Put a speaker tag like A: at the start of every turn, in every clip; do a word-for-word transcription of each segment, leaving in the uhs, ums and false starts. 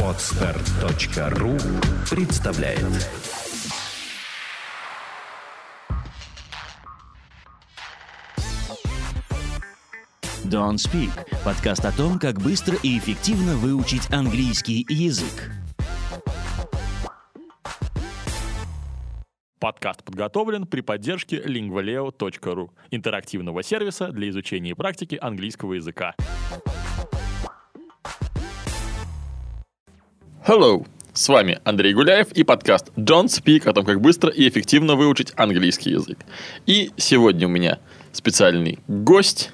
A: Подстер точка ру представляет.
B: Don't Speak – подкаст о том, как быстро и эффективно выучить английский язык.
C: Подкаст подготовлен при поддержке лингвалео точка ру, интерактивного сервиса для изучения и практики английского языка. Hello! С вами Андрей Гуляев и подкаст Don't Speak о том, как быстро и эффективно выучить английский язык. И сегодня у меня специальный гость,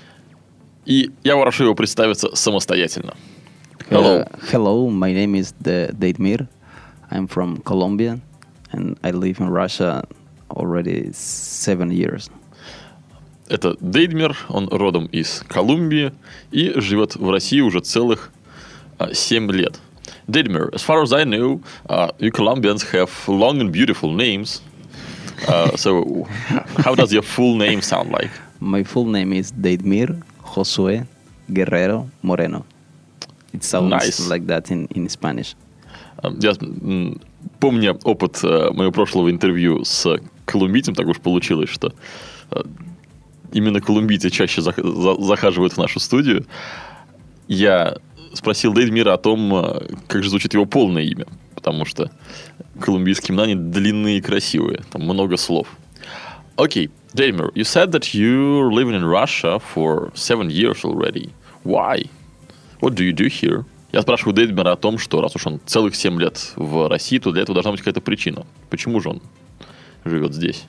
C: и я прошу его представиться самостоятельно.
D: Hello. Uh, hello, my name is Deidmir. I'm from Colombia, and I live in Russia already seven years.
C: Это Дейдмир, он родом из Колумбии и живет в России уже целых uh, семь лет. Deidmir, as far as I know, uh, you Colombians have long and beautiful names. Uh, so, how does your full name sound like?
D: My full name is Deidmir Josué Guerrero Moreno. It sounds nice. Like that in, in Spanish.
C: Я помню опыт моего прошлого интервью с колумбийцем, так уж получилось, что именно колумбийцы чаще захаживают в нашу студию. Я спросил Дейдмира о том, как же звучит его полное имя, потому что колумбийские имена, они длинные и красивые, там много слов. Окей, okay. Deidmir, you said that you're living in Russia for seven years already. Why? What do you do here? Я спрашиваю Дейдмира о том, что раз уж он целых семь лет в России, то для этого должна быть какая-то причина. Почему же он живет здесь?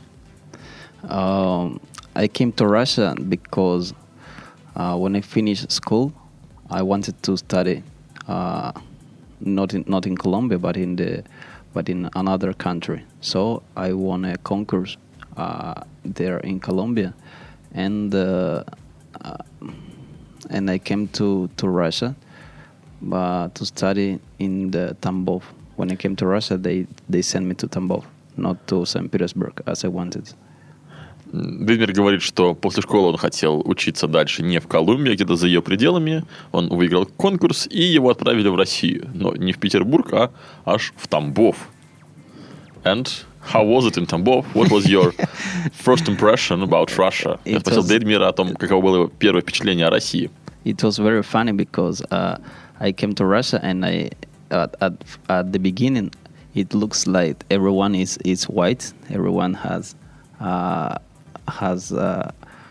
D: Um, I came to Russia because uh, when I finished school, I wanted to study uh, not in not in Colombia, but in the but in another country. So I won a concourse uh, there in Colombia, and uh, uh, and I came to to Russia. Uh, to study in the Tambov. When I came to Russia, they, they sent me to Tambov, not to Saint Petersburg, as I wanted.
C: Дейдмир говорит, что после школы он хотел учиться дальше не в Колумбии, а где-то за ее пределами. Он выиграл конкурс, и его отправили в Россию. Но не в Петербург, а аж в Тамбов. And how was it in Tambov? What was your first impression about Russia? Я спросил Дейдмира о том, каково было его первое впечатление о России.
D: It was very funny because uh, I came to Russia and I at, at at the beginning it looks like everyone is, is white. Everyone has uh, has uh,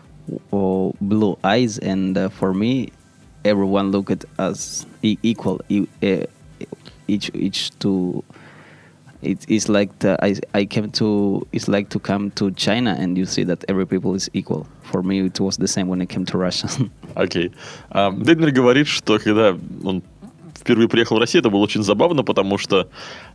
D: blue eyes, and uh, for me, everyone looked as e- equal. E- uh, each each to it is like the, I I came to it's like to come to China and you see that every people is equal. For me, it was the same when I came to Russia.
C: Окей. Okay. Um, Дейдмир говорит, что когда он впервые приехал в Россию, это было очень забавно, потому что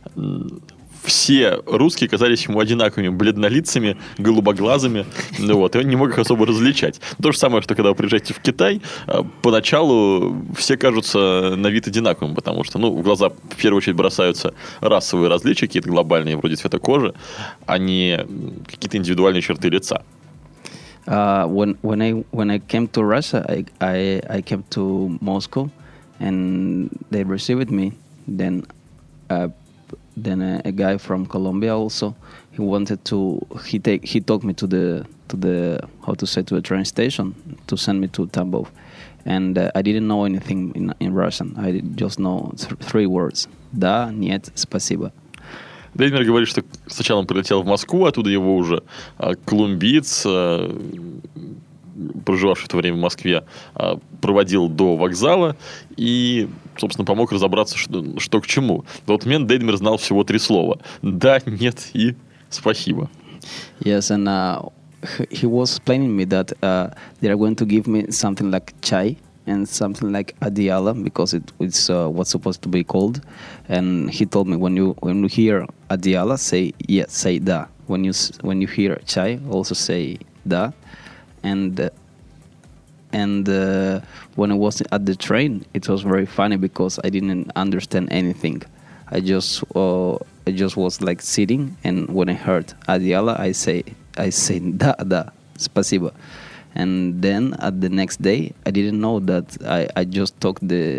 C: все русские казались ему одинаковыми, бледнолицами, голубоглазыми, ну вот, и он не мог их особо различать. То же самое, что когда вы приезжаете в Китай, поначалу все кажутся на вид одинаковыми, потому что, ну, в глаза в первую очередь бросаются расовые различия, какие-то глобальные, вроде цвета кожи, а не какие-то индивидуальные черты лица.
D: Uh, when when I when I came to Russia, I I, I came to Moscow, and they received me. Then, uh, then a, a guy from Colombia also. He wanted to. He take. He took me to the to the how to say to the train station to send me to Tambov, and uh, I didn't know anything in in Russian. I just know th- three words: да, нет, спасибо.
C: Дейдмир говорит, что сначала он прилетел в Москву, оттуда его уже а, колумбиец, а, проживавший в то время в Москве, а, проводил до вокзала и, собственно, помог разобраться, что, что к чему. В тот момент Дейдмир знал всего три слова: да, нет и спасибо.
D: Yes, and uh, he was explaining me that uh, they are going to give me something like chai and something like adiala, because it, it's uh, what's supposed to be called. And he told me, when you when you hear adiala, say yes, say da. When you when you hear chai, also say da. And uh, and uh, when I was at the train, it was very funny because I didn't understand anything. I just uh, I just was like sitting, and when I heard adiala, I say I say da da, spasibo. And then at the next day, I didn't know that I, I just took the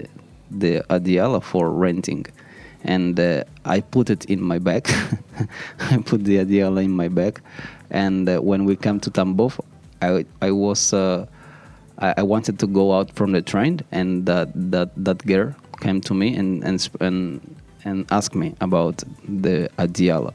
D: the adiala for renting, and uh, I put it in my bag. I put the adiala in my bag, and uh, when we came to Tambov, I I was uh, I, I wanted to go out from the train, and that that that girl came to me and and and, and asked me about the adiala.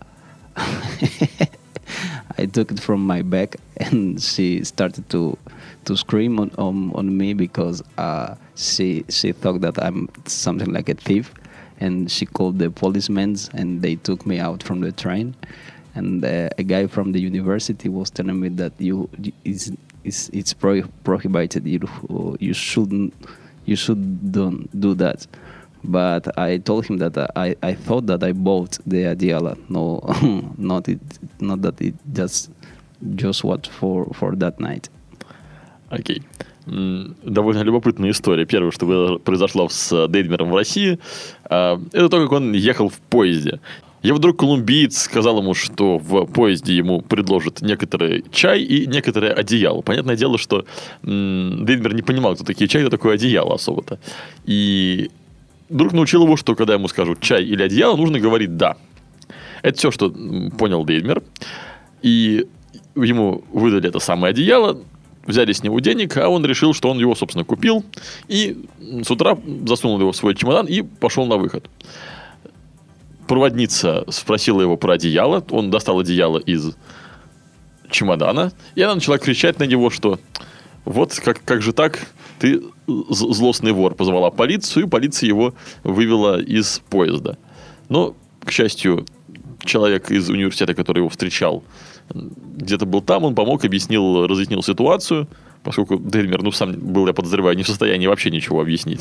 D: I took it from my bag, and she started to to scream on on, on me because uh, she she thought that I'm something like a thief, and she called the policemen, and they took me out from the train. And uh, a guy from the university was telling me that you it's it's, it's pro- prohibited. You you shouldn't you should don't do that. But I told him that I, I thought that I bought the adiala. No, not it, not that it just just what for for that night.
C: Окей. М, Довольно любопытная история. Первое, что произошло с Дейдмером в России, а, это то, как он ехал в поезде. И вдруг колумбиец сказал ему, что в поезде ему предложат некоторый чай и некоторое одеяло. Понятное дело, что м, Дейдмер не понимал, кто такие чай, кто такое одеяло особо-то. И друг научил его, что когда ему скажут чай или одеяло, нужно говорить «да». Это все, что понял Дейдмер. И ему выдали это самое одеяло, взяли с него денег, а он решил, что он его, собственно, купил. И с утра засунул его в свой чемодан и пошел на выход. Проводница спросила его про одеяло. Он достал одеяло из чемодана. И она начала кричать на него, что вот как, как же так... Ты злостный вор, позвала полицию, и полиция его вывела из поезда. Но, к счастью, человек из университета, который его встречал, где-то был там, он помог, объяснил, разъяснил ситуацию, поскольку Дейдмер, ну, сам был, я подозреваю, не в состоянии вообще ничего объяснить.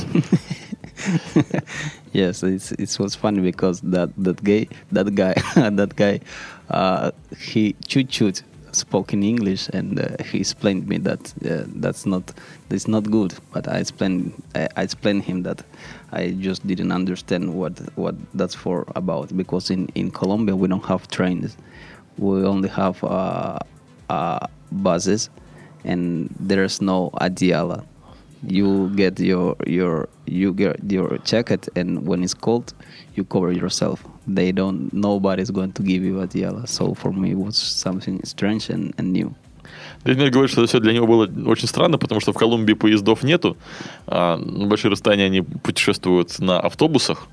D: Yes, it's it was funny because that that guy that guy that guy uh, he чуть-чуть spoke in English, and uh, he explained me that uh, that's not that's not good. But I explained I, I explained him that I just didn't understand what what that's for about, because in, in Colombia we don't have trains, we only have uh, uh, buses, and there's no adiala. You get your your you get your jacket, and when it's cold, you cover yourself. They don't. Nobody's going to give you adiala. So for me, it was something strange and, and new.
C: Дейдмер говорит, что это все для него было очень странно, потому что в Колумбии поездов нету. А на большие расстояния они путешествуют на автобусах.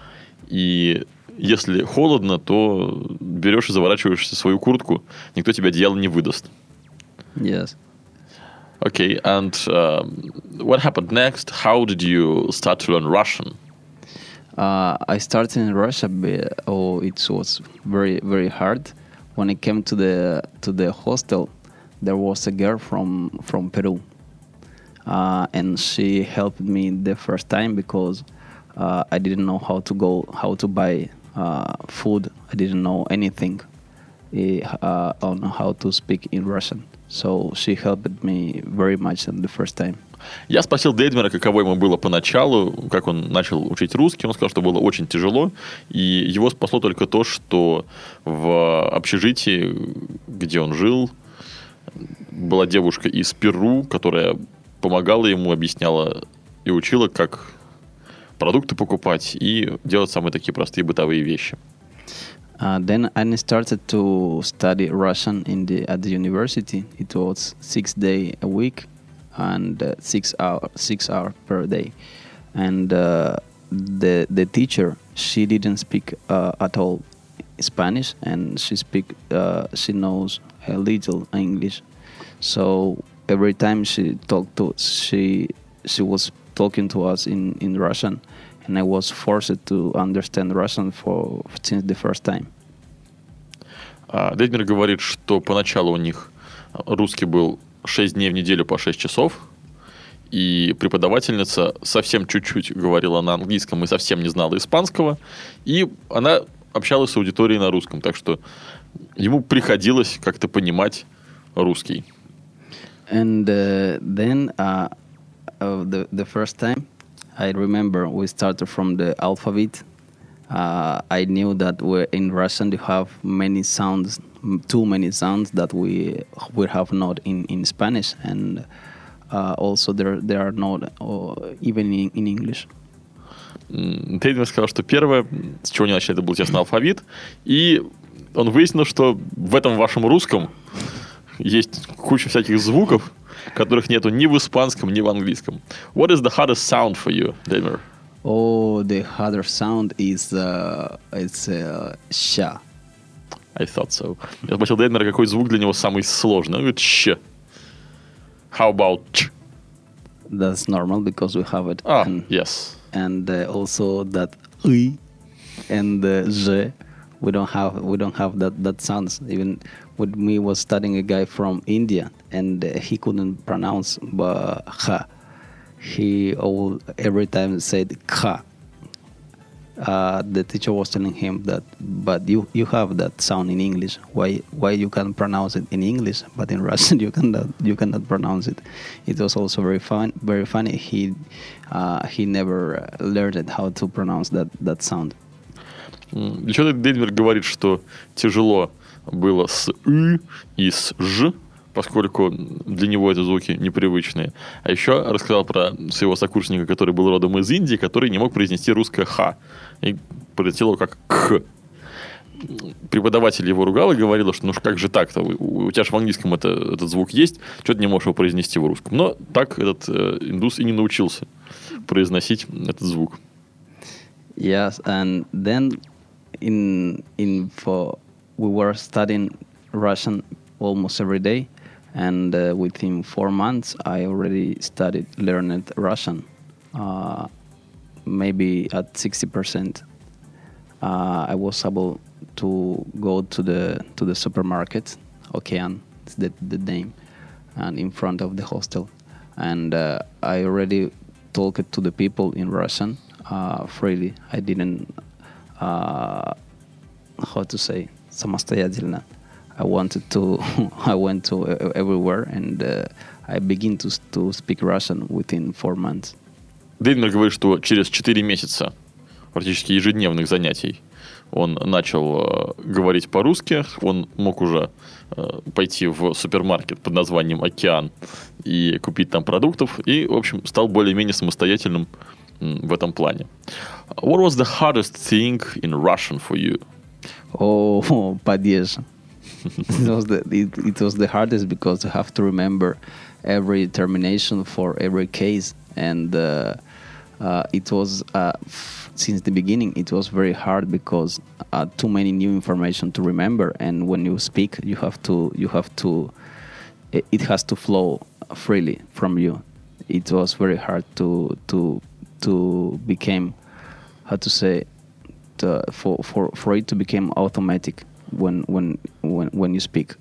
C: И если холодно, то берешь и заворачиваешься в свою куртку. Никто тебе одеяло не выдаст.
D: Yes.
C: Okay, and uh, what happened next? How did you start to learn Russian?
D: Uh, I started in Russia. But, oh, it was very very hard. When I came to the to the hostel, there was a girl from from Peru, uh, and she helped me the first time because uh, I didn't know how to go how to buy uh, food. I didn't know anything uh, on how to speak in Russian. So she helped me very much in the first time.
C: Я спросил Дейдмера, каково ему было поначалу, как он начал учить русский. Он сказал, что было очень тяжело, и его спасло только то, что в общежитии, где он жил, была девушка из Перу, которая помогала ему, объясняла и учила, как продукты покупать и делать самые такие простые бытовые вещи.
D: Uh, then I started to study Russian in the at the university. It was six days a week, and uh, six hour six hours per day. And uh, the the teacher, she didn't speak uh, at all Spanish, and she speak uh, she knows a little English. So every time she talked to she she was talking to us in, in Russian. And I was forced to understand Russian for since the first time.
C: Дейдмер говорит, что поначалу у них русский был шесть дней в неделю по шесть часов, и преподавательница совсем чуть-чуть говорила на английском и совсем не знала испанского, и она общалась с аудиторией на русском, так что ему приходилось как-то понимать русский.
D: And uh, then uh, uh, the the first time, I remember we started from the alphabet. Uh, I knew that we're in Russian you have many sounds, too many sounds that we we have not in, in Spanish, and uh, also there there are not uh, even in, in English.
C: Дейдмер сказал, что первое, с чего они начали, это был тесный алфавит, и он выяснил, что в этом вашем русском есть куча всяких звуков, которых нету ни в испанском, ни в английском. What is the hardest sound for you, Дейдмер?
D: Oh, the harder sound is uh, it's uh, sh.
C: I thought so. Я спросил Дейдмера, какой звук для него самый сложный. Он говорит, щ. How about ch?
D: That's normal because we have it.
C: Ah,
D: and,
C: yes.
D: And uh, also that I and uh, z. We don't have we don't have that that sounds. Even with me was studying a guy from India, and uh, he couldn't pronounce uh, ha. He all every time said ka. Uh, the teacher was telling him that, but you, you have that sound in English. Why why you can pronounce it in English, but in Russian you cannot you cannot pronounce it. It was also very fun, very funny. He uh, he never learned how to pronounce that that sound.
C: Для чего Дейдмер говорит, что тяжело было с «ы» и с «ж», поскольку для него это звуки непривычные. А еще рассказал про своего сокурсника, который был родом из Индии, который не мог произнести русское «х», и произносил его как «к». Преподаватель его ругал и говорил, что ну как же так-то, у, у тебя же в английском это, этот звук есть, что ты не можешь его произнести в русском. Но так этот э, индус и не научился произносить этот звук.
D: Yes, and then in in for we were studying Russian almost every day, and uh, within four months I already started learning Russian, uh, maybe at sixty percent. Uh, I was able to go to the to the supermarket, Okean, it's the the name, and in front of the hostel, and uh, I already talked to the people in Russian. Uh, freely. I didn't, uh, how to say, самостоятельно. I wanted to, I went to uh, everywhere, and uh, I began to to speak Russian within four months.
C: Дейдмер говорит, что через четыре месяца практически ежедневных занятий он начал э, говорить по-русски. Он мог уже э, пойти в супермаркет под названием «Океан» и купить там продуктов. И, в общем, стал более-менее самостоятельным в этом плане. What was the hardest thing in Russian for you?
D: Oh, падеж. it was the it, it was the hardest because you have to remember every termination for every case, and uh, uh, it was uh, f- since the beginning it was very hard because uh, too many new information to remember, and when you speak you have to you have to it, it has to flow freely from you. It was very hard to to to become, how to say, to, for, for, for it to become automatic when when when when you speak.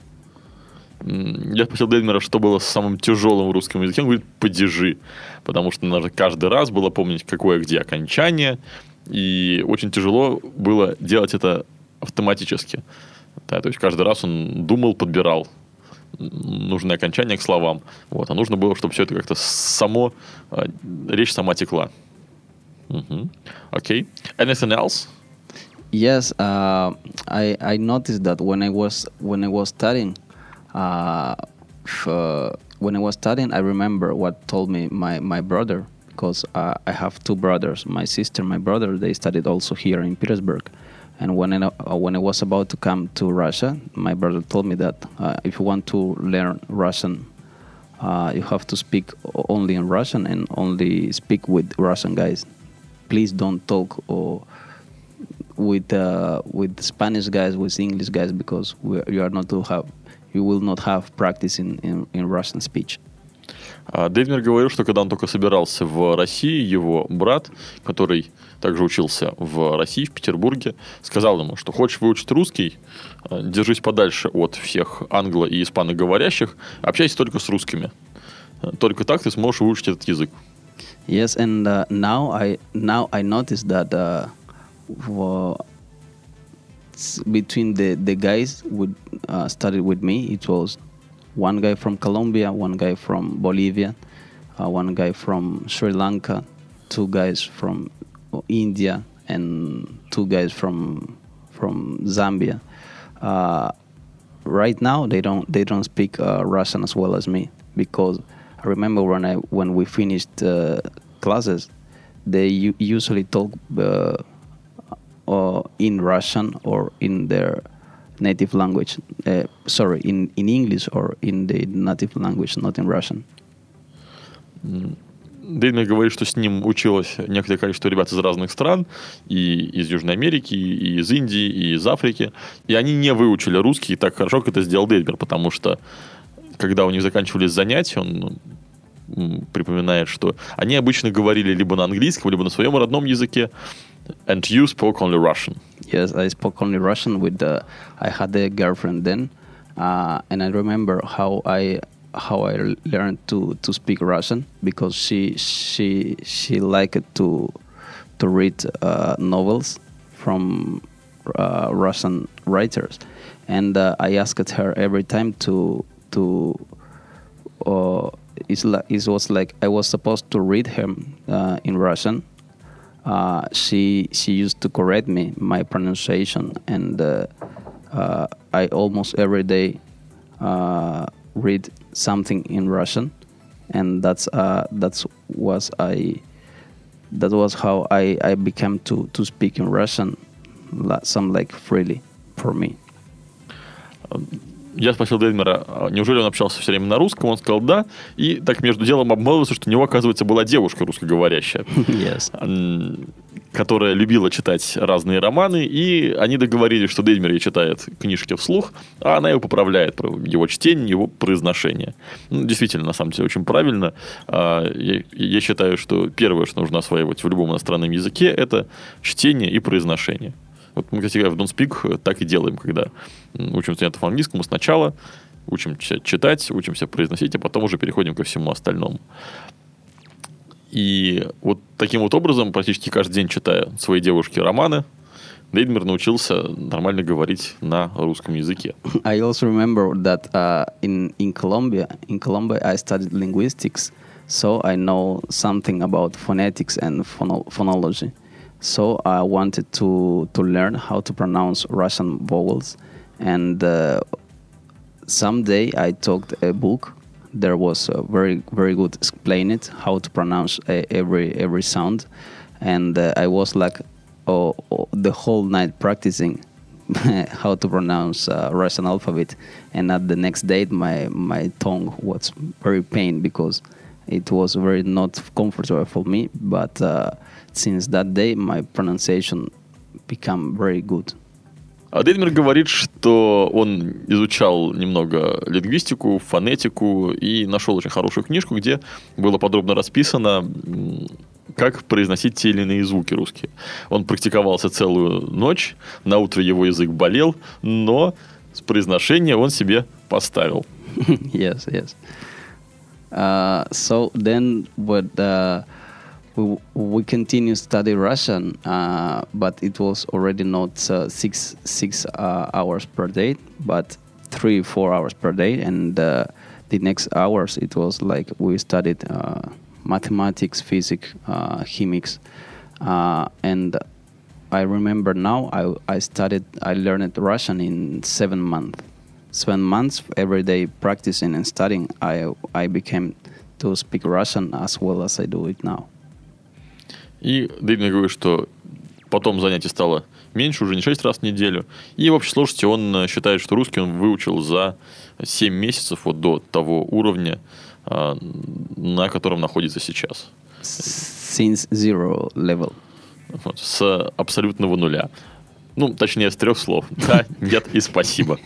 C: Я спросил Дейдмера, что было самым тяжелым в русском языке. Он говорит, падежи. Потому что надо каждый раз было помнить, какое где окончание. И очень тяжело было делать это автоматически. Да, то есть каждый раз он думал, подбирал нужное окончание к словам. Вот. А нужно было, чтобы все это как-то само, речь сама текла. Mm-hmm. Okay. Anything else?
D: Yes, uh, I I noticed that when I was when I was studying, uh, f- uh, when I was studying, I remember what told me my my brother, because uh, I have two brothers. My sister, my brother, they studied also here in Petersburg. And when I uh, when I was about to come to Russia, my brother told me that uh, if you want to learn Russian, uh, you have to speak only in Russian and only speak with Russian guys. Please don't talk or with uh, with Spanish guys, with English guys, because we, you are not to have, you will not have practice in, in, in Russian speech.
C: Дейдмер говорил, что когда он только собирался в России, его брат, который также учился в России, в Петербурге, сказал ему, что хочешь выучить русский, держись подальше от всех англо- и испаноговорящих, общайся только с русскими. Только так ты сможешь выучить этот язык.
D: Yes, and uh, now I now I noticed that uh, for, between the the guys who uh, studied with me, it was one guy from Colombia, one guy from Bolivia, uh, one guy from Sri Lanka, two guys from India, and two guys from from Zambia. Uh, right now, they don't they don't speak uh, Russian as well as me, because I remember when I when we finished uh, classes, they u- usually talk uh, uh, in Russian or in their native language. Uh, sorry, in, in English or in the native language, not in Russian.
C: Дейдмер говорит, что с ним училось некоторое количество ребят из разных стран, и из Южной Америки, и из Индии, и из Африки, и они не выучили русский так хорошо, как это сделал Дейдмер, потому что когда у них заканчивались занятия, он припоминает, что они обычно говорили либо на английском, либо на своем родном языке. And you spoke only Russian.
D: Yes, I spoke only Russian with the. I had a girlfriend then, uh, and I remember how I how I learned to, to speak Russian because she she she liked to to read uh, novels from uh, Russian writers, and uh, I asked her every time to to. Uh, it's like, it was like I was supposed to read him uh, in Russian. Uh, she she used to correct me my pronunciation, and uh, uh, I almost every day uh, read something in Russian, and that's uh, that's was I that was how I, I became to, to speak in Russian, some like freely for me.
C: Я спросил Дейдмера, неужели он общался все время на русском? Он сказал да. И так между делом обмолвился, что у него, оказывается, была девушка русскоговорящая,
D: yes.
C: которая любила читать разные романы. И они договорились, что Дейдмер ей читает книжки вслух, а она его поправляет, его чтение, его произношение. Ну, действительно, на самом деле, очень правильно. Я, я считаю, что первое, что нужно осваивать в любом иностранном языке, это чтение и произношение. Вот мы, кстати, в Don't Speak так и делаем, когда учим студентов английскому сначала, учимся читать, учимся произносить, а потом уже переходим ко всему остальному. И вот таким вот образом, практически каждый день читая своей девушке романы, Дейдмер научился нормально говорить на русском языке.
D: I also remember that uh, in, in Colombia, in Colombia I studied linguistics, so I know something about phonetics and phono- phonology. So I wanted to, to learn how to pronounce Russian vowels, and uh, someday I took a book. There was a very very good explain it how to pronounce uh, every every sound, and uh, I was like oh, oh, the whole night practicing how to pronounce uh, Russian alphabet. And at the next day, my my tongue was very pain because it was very not comfortable for me, but uh, since that day, my pronunciation became very good.
C: А Дейдмер говорит, что он изучал немного лингвистику, фонетику и нашел очень хорошую книжку, где было подробно расписано, как произносить те или иные звуки русские. Он практиковался целую ночь, на утро его язык болел, но с произношения он себе поставил.
D: Yes, yes. Uh, so then what uh, we, we continue study Russian, uh, but it was already not uh, six six uh, hours per day, but three four hours per day, and uh, the next hours it was like we studied uh, mathematics, physics, uh, chemics, uh, and I remember now I I studied I learned Russian in seven months. Seven months every day practicing and studying, I I became to speak Russian as well as I do it now.
C: И Дейдмер говорит, что потом занятий стало меньше, уже не шесть раз в неделю. И в общей сложности он считает, что русский он выучил за семь месяцев вот до того уровня, на котором находится сейчас.
D: Since zero level.
C: Вот, с абсолютного нуля. Ну, точнее, с трех слов. Да, нет и спасибо.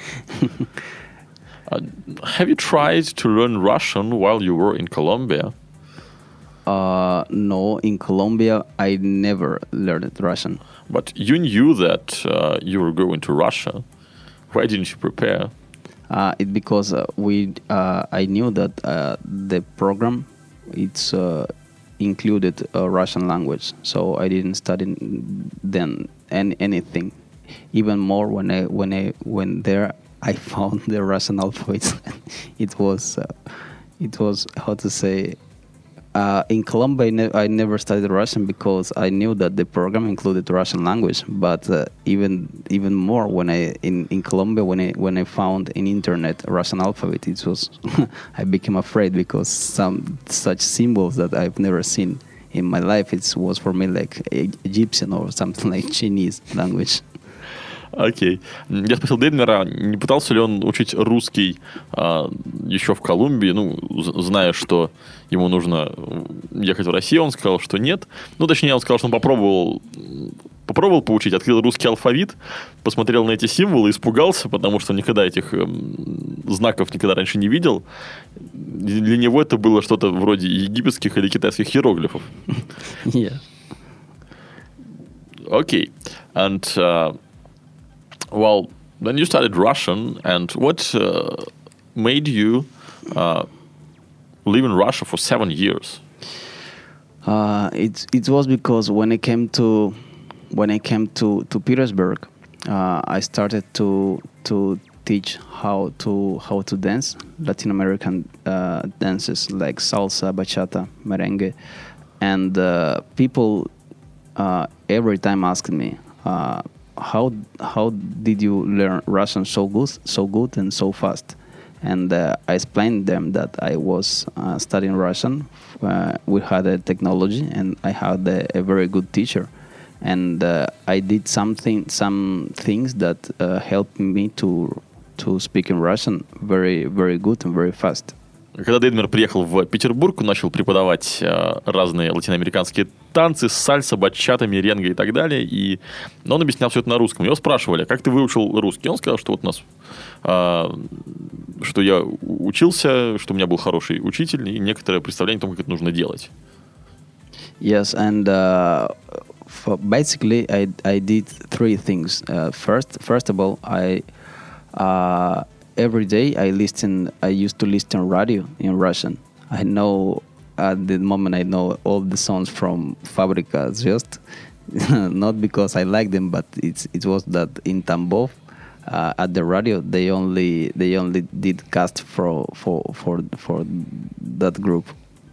C: Uh, have you tried to learn Russian while you were in Colombia?
D: Uh, no, in Colombia I never learned Russian.
C: But you knew that uh, you were going to Russia. Why didn't you prepare?
D: Uh, it because uh, we uh, I knew that uh, the program it's uh, included uh, Russian language, so I didn't study then any, anything. Even more when I when I went there, I found the Russian alphabet. it was uh, it was how to say. Uh, in Colombia, I, ne- I never studied Russian because I knew that the program included Russian language. But uh, even even more when I in, in Colombia when I when I found in internet Russian alphabet, it was I became afraid because some such symbols that I've never seen in my life, it was for me like Egyptian or something like Chinese language.
C: Окей. Okay. Я спросил Дейдмера, не пытался ли он учить русский а, еще в Колумбии, ну, зная, что ему нужно ехать в Россию. Он сказал, что нет. Ну, точнее, он сказал, что он попробовал, попробовал поучить, открыл русский алфавит, посмотрел на эти символы, испугался, потому что никогда этих э, знаков никогда раньше не видел. Для него это было что-то вроде египетских или китайских иероглифов.
D: Yeah.
C: Okay. And... Uh, Well, then you studied Russian, and what uh, made you uh, live in Russia for seven years?
D: Uh, it it was because when I came to when I came to to Petersburg, uh, I started to to teach how to how to dance Latin American uh, dances like salsa, bachata, merengue, and uh, people uh, every time asked me. Uh, How how did you learn Russian so good, so good and so fast? And uh, I explained them that I was uh, studying Russian. Uh, we had a technology, and I had a, a very good teacher. And uh, I did something, some things that uh, helped me to to speak in Russian very, very good and very fast.
C: Когда Дейдмер приехал в Петербург, он начал преподавать э, разные латиноамериканские танцы, сальса, бачата, меренге и так далее. И он объяснял все это на русском. Его спрашивали, как ты выучил русский? Он сказал, что вот у нас, э, что я учился, что у меня был хороший учитель и некоторое представление о том, как это нужно делать.
D: Yes, and uh, for basically I I did three things. Uh, first, first of all, I uh, every day I listen. I used to listen radio in Russian. I know at the moment I know all the songs from Fabrika Zvezd, not because I like them, but it's it was that in Tambov uh, at the radio they only they only did cast for for for for that group.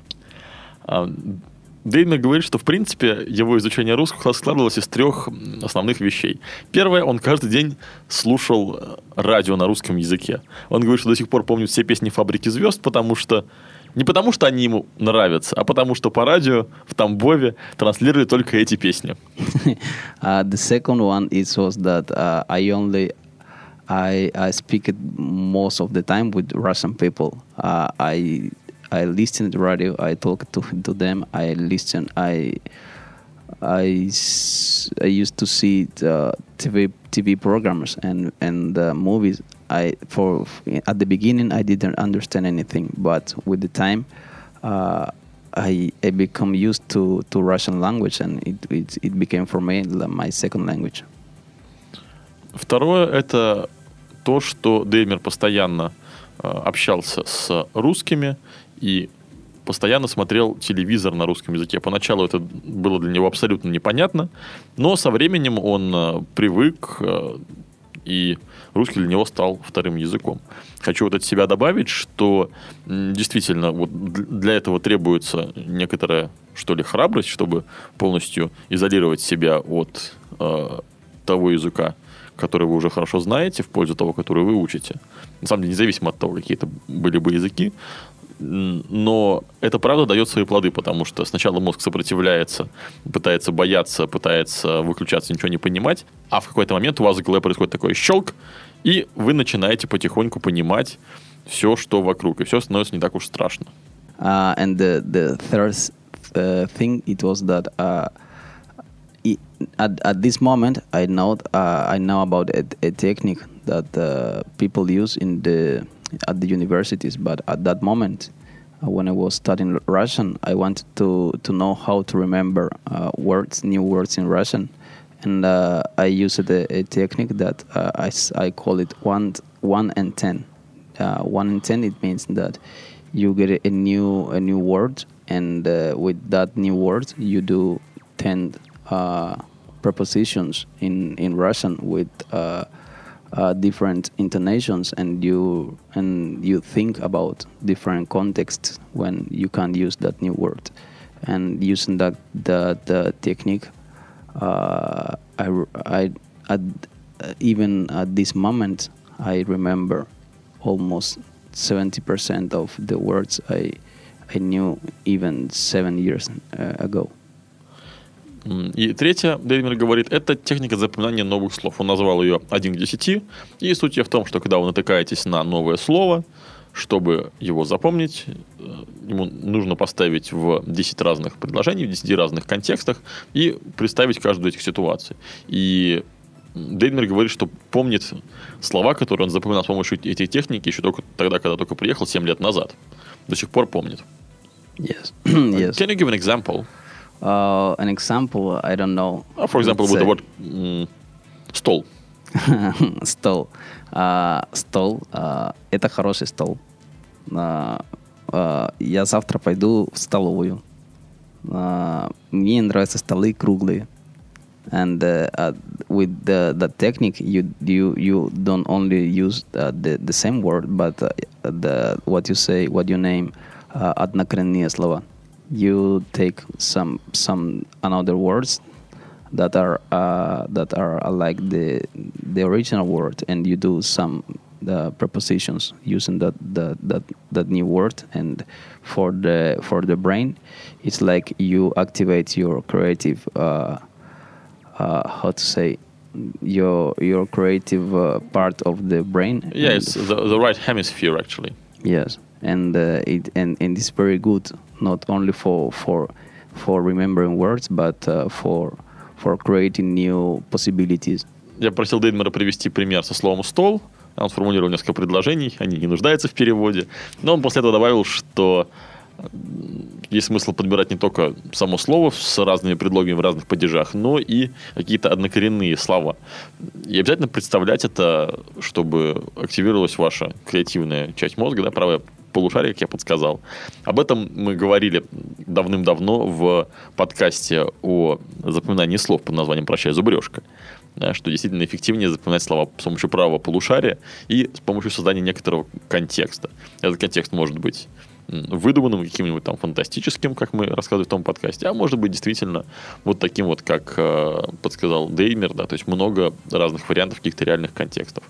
C: Um, Дейдмер говорит, что, в принципе, его изучение русского складывалось из трех основных вещей. Первое, он каждый день слушал радио на русском языке. Он говорит, что до сих пор помнит все песни «Фабрики звезд», потому что... Не потому, что они ему нравятся, а потому, что по радио в Тамбове транслировали только эти песни.
D: uh, the second one is was that uh, I only... I, I speak it most of the time with Russian people. Uh, I... I listen to radio. I talk to to them. I listen. I I, I used to see the T V T V programs and and uh, movies. I for at the beginning I didn't understand anything, but with the time, uh, I I become used to, to Russian language, and it, it it became for me my second language.
C: Второе — это то, что Дейдмер постоянно э, общался с русскими и постоянно смотрел телевизор на русском языке. Поначалу это было для него абсолютно непонятно, но со временем он э, привык, э, и русский для него стал вторым языком. Хочу вот от себя добавить, что м, действительно вот для этого требуется некоторая, что ли, храбрость, чтобы полностью изолировать себя от э, того языка, который вы уже хорошо знаете, в пользу того, который вы учите. На самом деле, независимо от того, какие это были бы языки, но это правда дает свои плоды, потому что сначала мозг сопротивляется, пытается бояться, пытается выключаться, ничего не понимать, а в какой-то момент у вас в голове происходит такой щелк, и вы начинаете потихоньку понимать все, что вокруг, и все становится не так уж страшно.
D: Uh, and the, the third uh, thing, it was that uh, it, at, at this moment, I know, uh, I know about a, a technique that uh, people use in the at the universities, but at that moment, uh, when I was studying Russian, I wanted to, to know how to remember uh, words, new words in Russian, and uh, I used a, a technique that uh, I, I call it one one and ten. Uh, one and ten, it means that you get a new a new word, and uh, with that new word, you do ten uh, prepositions in in Russian with uh, Uh, different intonations, and you and you think about different contexts when you can use that new word. And using that the the technique, uh, I I at, uh, even at this moment I remember almost seventy percent of the words I I knew even seven years uh, ago.
C: И третье, Дейдмер говорит, это техника запоминания новых слов. Он назвал ее один к десяти. И суть ее в том, что когда вы натыкаетесь на новое слово, чтобы его запомнить, ему нужно поставить в десять разных предложений, в десяти разных контекстах и представить каждую из этих ситуаций. И Дейдмер говорит, что помнит слова, которые он запоминал с помощью этой техники еще только тогда, когда только приехал, семь лет назад. До сих пор помнит.
D: Yes. Yes.
C: Can you give an example?
D: Uh, an example, I don't know.
C: Uh, for example, with the word mm, стол.
D: Стол. Uh, стол. Uh, это хороший стол. Uh, uh, я завтра пойду в столовую. Uh, мне нравятся столы круглые. And uh, uh, with the, the technique, you you you don't only use uh, the the same word, but uh, the what you say, what you name, uh, однокоренные слова. You take some some another words that are uh, that are like the the original word, and you do some the prepositions using that that that that new word. And for the for the brain, it's like you activate your creative. Uh, uh, how to say? Your your creative uh, part of the brain.
C: Yeah, it's the the right hemisphere actually.
D: Yes. And uh, it and, and it's very good not only for for for remembering words, but uh, for for creating new possibilities.
C: Я просил Дейдмера привести пример со словом стол. Он сформулировал несколько предложений, они не нуждаются в переводе. Но он после этого добавил, что есть смысл подбирать не только само слово с разными предлогами в разных падежах, но и какие-то однокоренные слова. И обязательно представлять это, чтобы активировалась ваша креативная часть мозга, да, правая полушарие, как я подсказал. Об этом мы говорили давным-давно в подкасте о запоминании слов под названием «Прощай, зубрежка». Да, что действительно эффективнее запоминать слова с помощью правого полушария и с помощью создания некоторого контекста. Этот контекст может быть выдуманным, каким-нибудь там фантастическим, как мы рассказывали в том подкасте, а может быть действительно вот таким вот, как э, подсказал Дейдмер, да, то есть много разных вариантов каких-то реальных контекстов.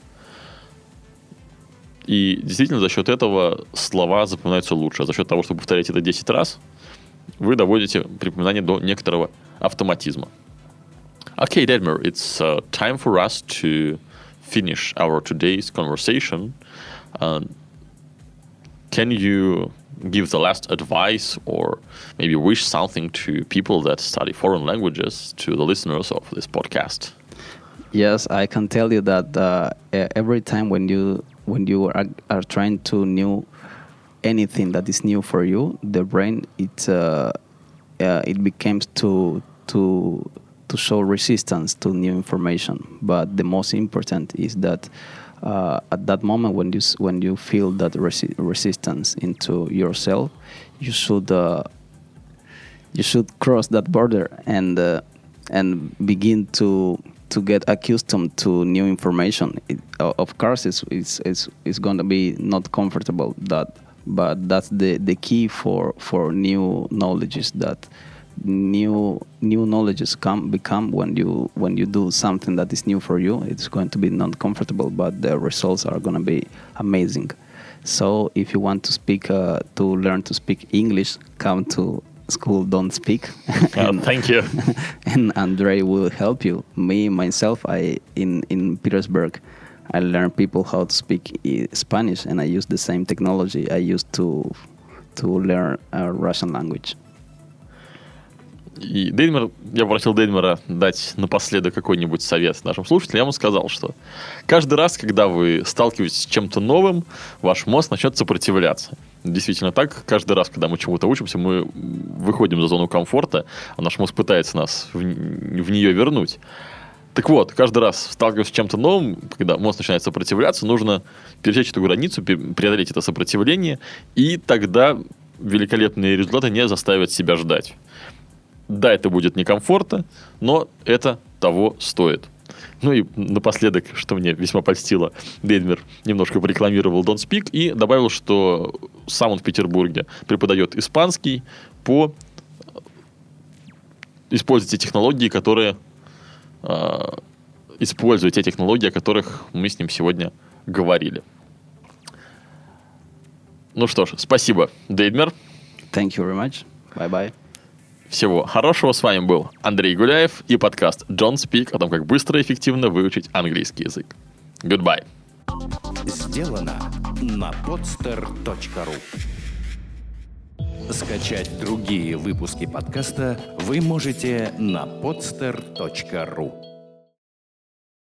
C: И действительно за счет этого слова запоминаются лучше. А за счет того, что повторяете это десять раз, вы доводите припоминание до некоторого автоматизма. Okay, Дейдмер, it's uh, time for us to finish our today's conversation. Uh, can you give the last advice or maybe wish something to people that study foreign languages, to the listeners of this podcast?
D: Yes, I can tell you that uh, every time when you when you are, are trying to know anything that is new for you, the brain it uh, uh, it becomes to to to show resistance to new information. But the most important is that uh, at that moment when you when you feel that resi- resistance into yourself, you should uh, you should cross that border and uh, and begin to. to get accustomed to new information. It, uh, of course, it's, it's, it's, it's going to be not comfortable, that, but that's the, the key for, for new knowledges, that new new knowledges come become when you when you do something that is new for you. It's going to be not comfortable, but the results are going to be amazing. So if you want to speak, uh, to learn to speak English, come to School Don't Speak.
C: and, uh, thank you.
D: And Andre will help you. Me myself, I in in Petersburg, I learned people how to speak Spanish, and I use the same technology I used to to learn a Russian language.
C: И Дейдмер, я попросил Дейдмера дать напоследок какой-нибудь совет нашим слушателям. Я ему сказал, что каждый раз, когда вы сталкиваетесь с чем-то новым, ваш мозг начнет сопротивляться. Действительно так. Каждый раз, когда мы чему-то учимся, мы выходим за зону комфорта, а наш мозг пытается нас в, в нее вернуть. Так вот, каждый раз, сталкиваясь с чем-то новым, когда мозг начинает сопротивляться, нужно пересечь эту границу, преодолеть это сопротивление, и тогда великолепные результаты не заставят себя ждать. Да, это будет некомфортно, но это того стоит. Ну и напоследок, что мне весьма польстило, Дейдмер немножко порекламировал Don't Speak и добавил, что сам он в Петербурге преподает испанский по используя те технологии, которые э, используя те технологии, о которых мы с ним сегодня говорили. Ну что ж, спасибо, Дейдмер.
D: Thank you very much. Bye-bye.
C: Всего хорошего. С вами был Андрей Гуляев и подкаст Don't Speak о том, как быстро и эффективно выучить английский язык. Goodbye.
A: Сделано на podster точка ру. Скачать другие выпуски подкаста вы можете на podster точка ру.